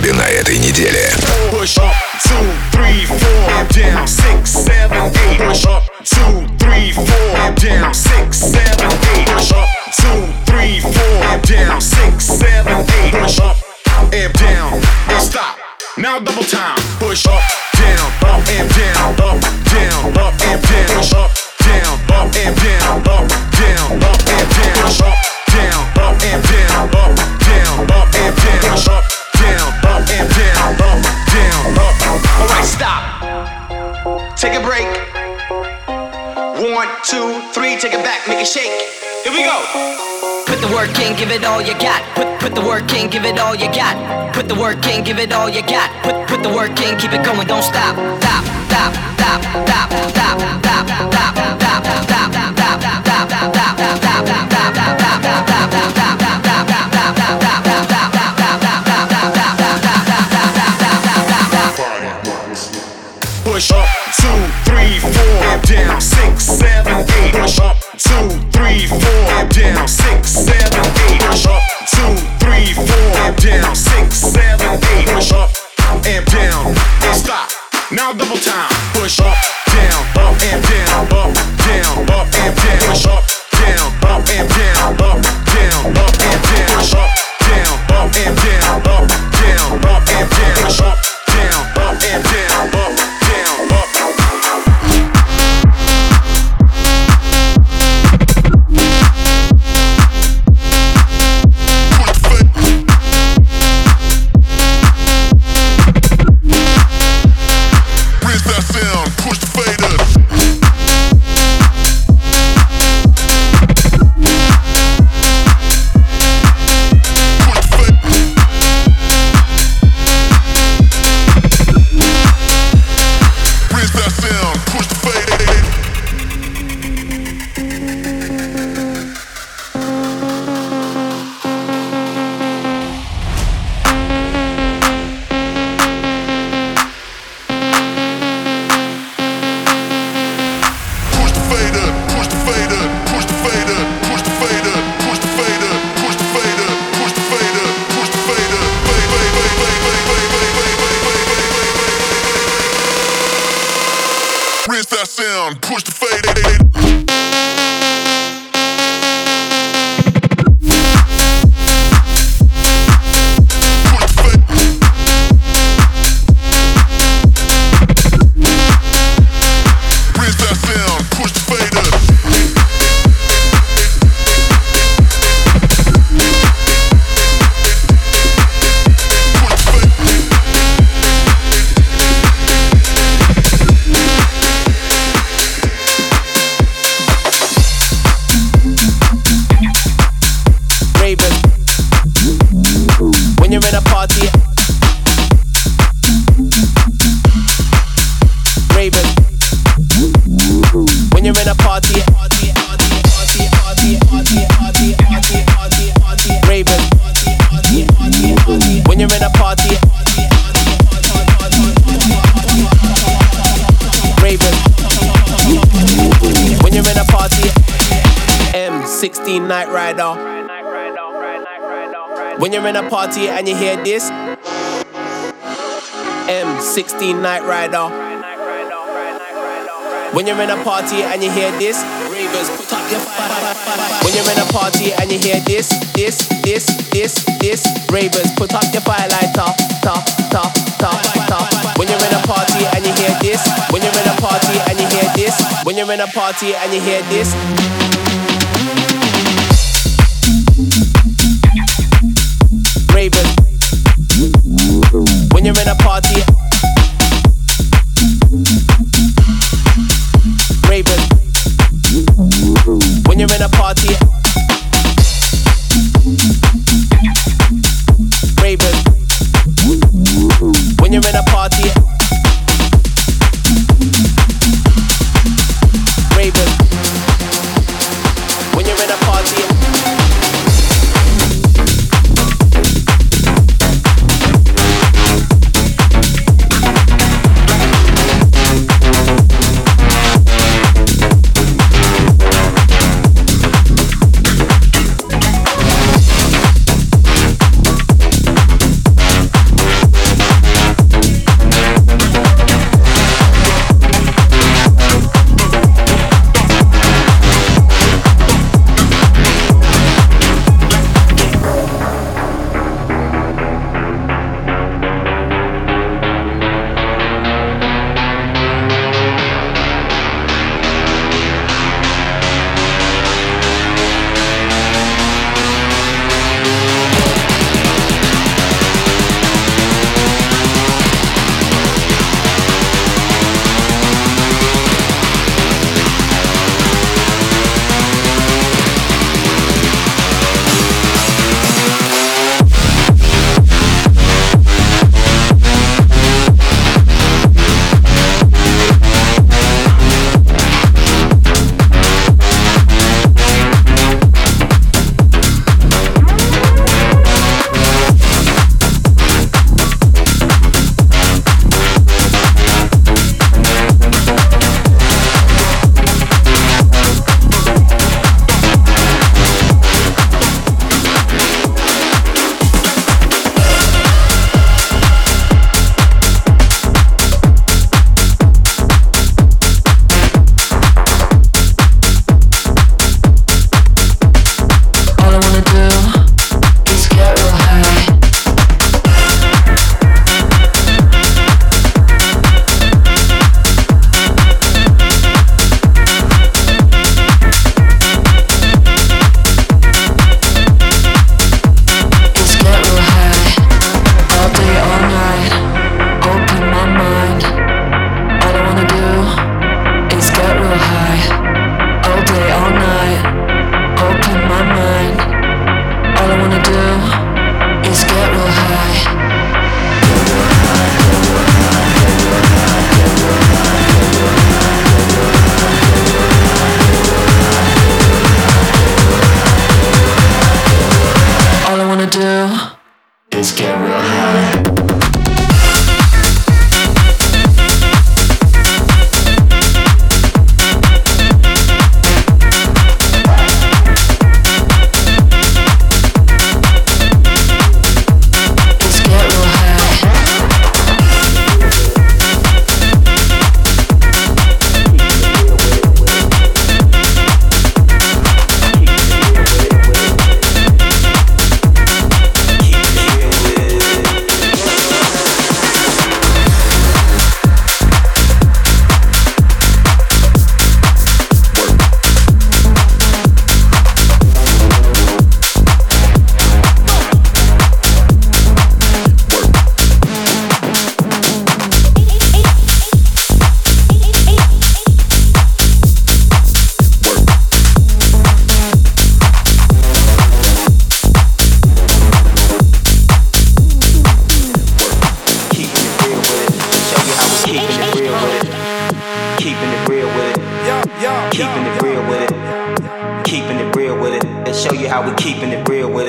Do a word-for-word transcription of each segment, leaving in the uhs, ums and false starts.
клабе на этой неделе. Push up, two, three, four, down, six, seven, eight. Push up, two, three, four, down, six, seven, eight. Push up, two, three, four, down, six, seven, eight. Push up, and down, and stop. Now double time. Push up, down, up and down, up, down, up and down. Push up, down, up and down, up, down, up and down. Push up, down, up and down, up, down, up and down. Push up, down, up and down, up, down, up. Alright, stop. Take a break. One, two, three, take it back, make it shake. Here we go. Put the work in, give it all you got. Put put the work in, give it all you got. Put the work in, give it all you got. Put put the work in, keep it going, don't stop. Stop, stop, stop, stop, stop, stop, stop, stop, stop, push up, two, three, four, down, six, seven, eight. Push up, two, three, four, down, six, seven, eight. Push up, two, three, four, down, six, seven, eight. Push up, and down, and stop. Now double time. Push up, down, up and down, up, down, up and down. Push up, down, up and down, up, down, up and down. Push up, down, up and down, up, down, up and down. Push up, down, up and down, up, down, up. Night Rider. When you're in a party and you hear this, M sixteen Night Rider. When you're in a party and you hear this, ravers, put up your fire. When you're in a party and you hear this, this, this, this, this, ravers, put up your firelighter. Ta, ta, ta, ta. When you're in a party and you hear this, when you're in a party and you hear this, when you're in a party and you hear this. Raven. When you're in a party, Raven. When you're in a party, Raven. When you're in a party, Raven. When you're in a party.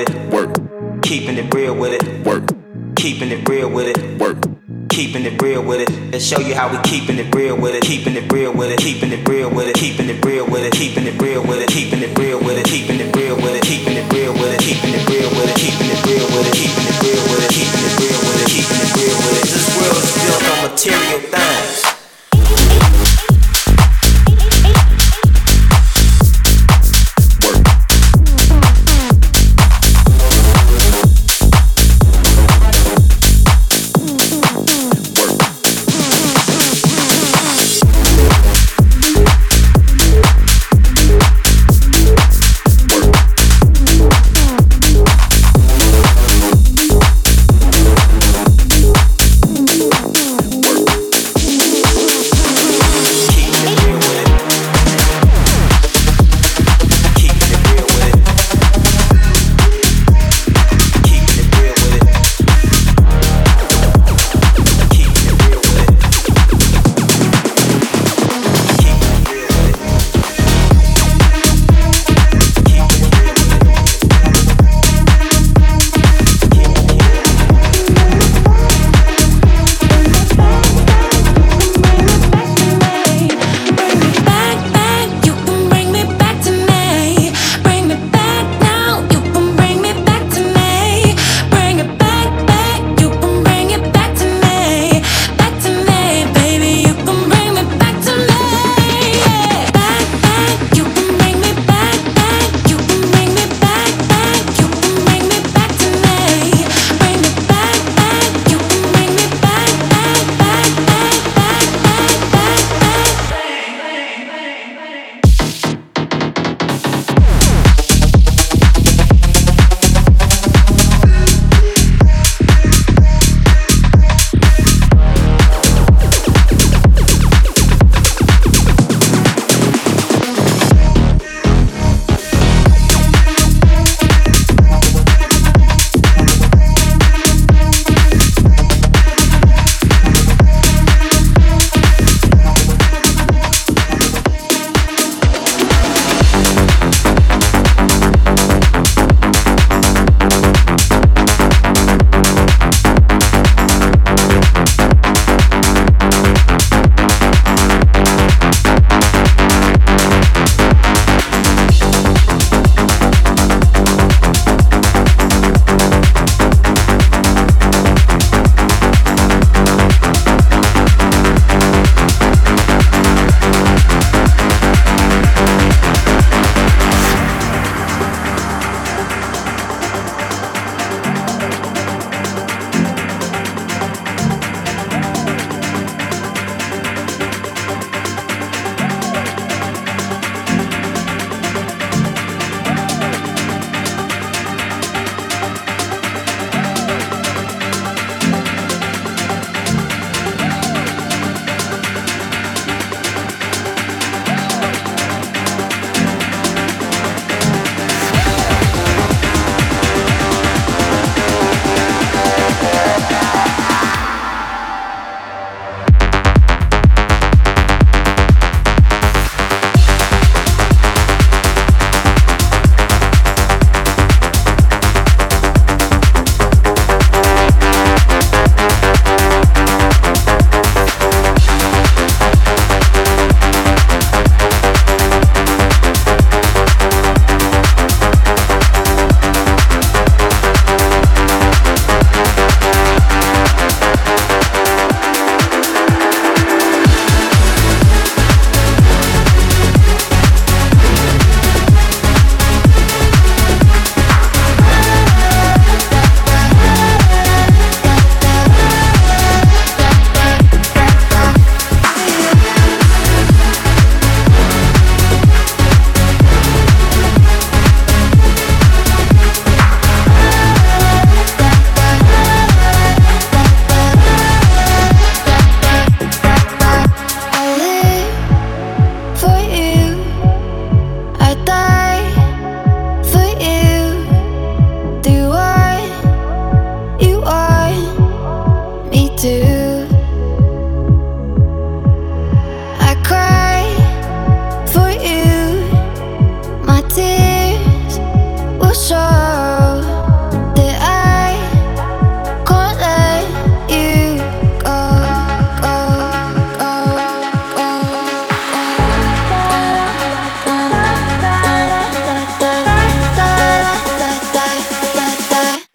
it. Work. Keeping it real with it. Work. Keeping it real with it. Work. Keeping it real with it. Let's show you how we keeping it real with it. Keeping it real with it. Keeping it real with it. Keeping it real with it. Keeping it real with it. Keeping it real with it. Keeping it real with it. Keeping it real with it. Keeping it real with it. Keeping it real with it. Keeping it real with it. Keeping it real with it. Keeping it real with it. This world is built on material things. Work.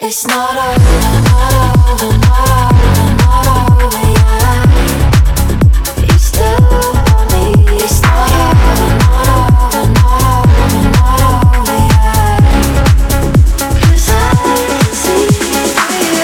It's not over, not over, not over, not over yet. You still want me. It's not over, not over, not over, not over yet. 'Cause I can see you.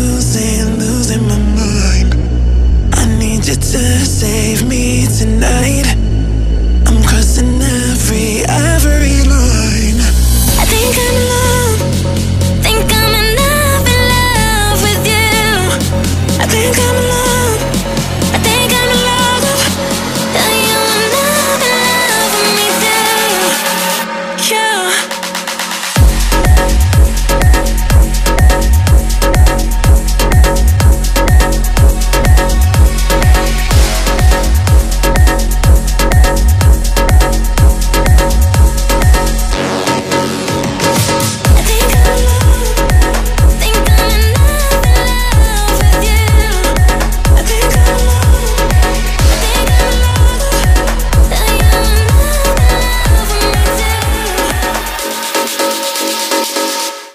Save me tonight.